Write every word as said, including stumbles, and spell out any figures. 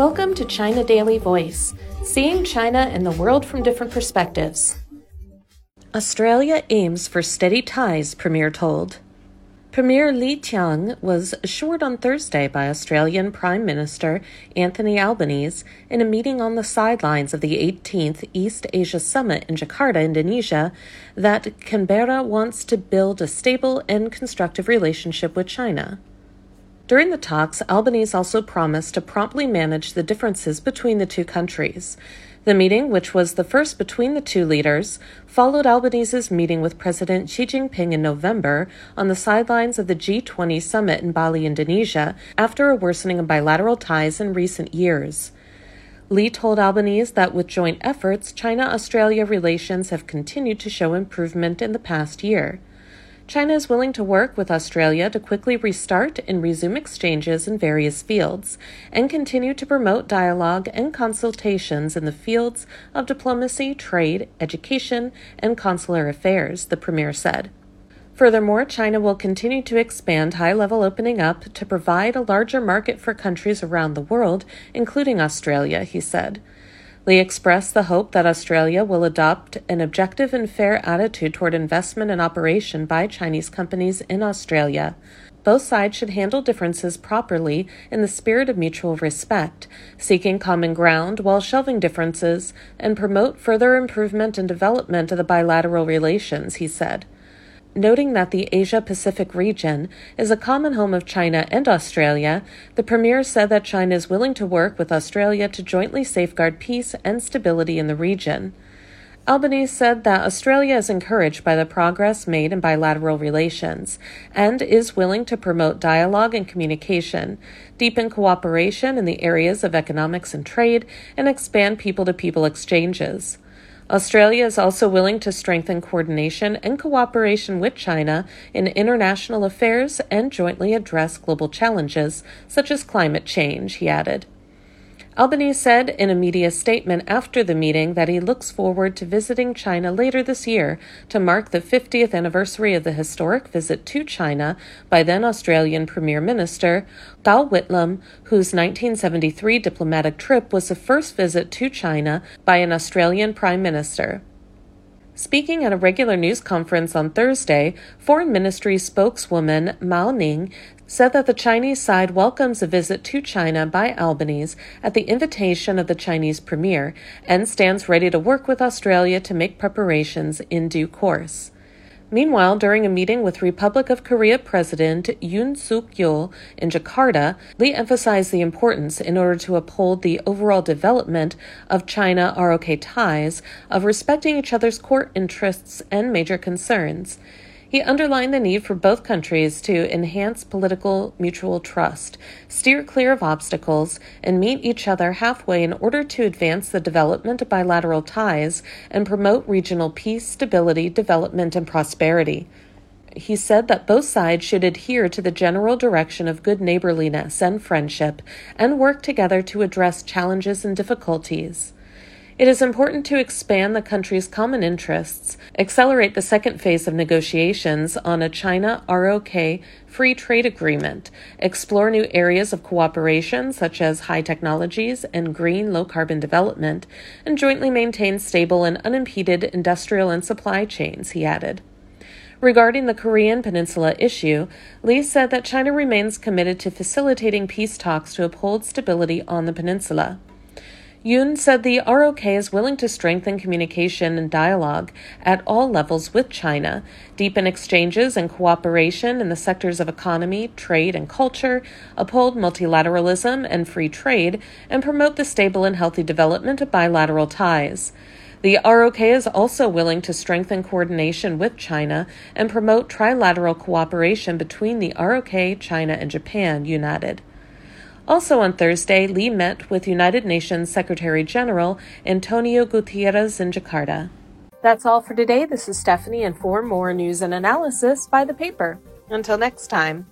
Welcome to China Daily Voice, seeing China and the world from different perspectives. Australia aims for steady ties, Premier told. Premier Li Qiang was assured on Thursday by Australian Prime Minister Anthony Albanese in a meeting on the sidelines of the eighteenth East Asia Summit in Jakarta, Indonesia, that Canberra wants to build a stable and constructive relationship with China. During the talks, Albanese also promised to promptly manage the differences between the two countries. The meeting, which was the first between the two leaders, followed Albanese's meeting with President Xi Jinping in November on the sidelines of the G twenty summit in Bali, Indonesia, after a worsening of bilateral ties in recent years. Li told Albanese that with joint efforts, China-Australia relations have continued to show improvement in the past year. China is willing to work with Australia to quickly restart and resume exchanges in various fields, and continue to promote dialogue and consultations in the fields of diplomacy, trade, education, and consular affairs, the Premier said. Furthermore, China will continue to expand high-level opening up to provide a larger market for countries around the world, including Australia, he said. Li expressed the hope that Australia will adopt an objective and fair attitude toward investment and operation by Chinese companies in Australia. Both sides should handle differences properly in the spirit of mutual respect, seeking common ground while shelving differences, and promote further improvement and development of the bilateral relations, he said. Noting that the Asia-Pacific region is a common home of China and Australia, the Premier said that China is willing to work with Australia to jointly safeguard peace and stability in the region. Albanese said that Australia is encouraged by the progress made in bilateral relations and is willing to promote dialogue and communication, deepen cooperation in the areas of economics and trade, and expand people-to-people exchanges. Australia is also willing to strengthen coordination and cooperation with China in international affairs and jointly address global challenges, such as climate change, he added. Albanese said in a media statement after the meeting that he looks forward to visiting China later this year to mark the fiftieth anniversary of the historic visit to China by then Australian Premier Minister Gough Whitlam, whose nineteen seventy-three diplomatic trip was the first visit to China by an Australian Prime Minister. Speaking at a regular news conference on Thursday, Foreign Ministry spokeswoman Mao Ning said that the Chinese side welcomes a visit to China by Albanese at the invitation of the Chinese Premier and stands ready to work with Australia to make preparations in due course. Meanwhile, during a meeting with Republic of Korea President Yoon Suk-yeol in Jakarta, Li emphasized the importance, in order to uphold the overall development of China-R O K ties, of respecting each other's core interests and major concerns. He underlined the need for both countries to enhance political mutual trust, steer clear of obstacles, and meet each other halfway in order to advance the development of bilateral ties and promote regional peace, stability, development, and prosperity. He said that both sides should adhere to the general direction of good neighborliness and friendship and work together to address challenges and difficulties. It is important to expand the country's common interests, accelerate the second phase of negotiations on a China-R O K free trade agreement, explore new areas of cooperation such as high technologies and green low-carbon development, and jointly maintain stable and unimpeded industrial and supply chains, he added. Regarding the Korean Peninsula issue, Li said that China remains committed to facilitating peace talks to uphold stability on the peninsula. Yoon said the R O K is willing to strengthen communication and dialogue at all levels with China, deepen exchanges and cooperation in the sectors of economy, trade, and culture, uphold multilateralism and free trade, and promote the stable and healthy development of bilateral ties. The R O K is also willing to strengthen coordination with China and promote trilateral cooperation between the R O K, China, and Japan, Yoon added. Also on Thursday, Li met with United Nations Secretary-General Antonio Guterres in Jakarta. That's all for today. This is Stephanie, and for more news and analysis, by the paper. Until next time.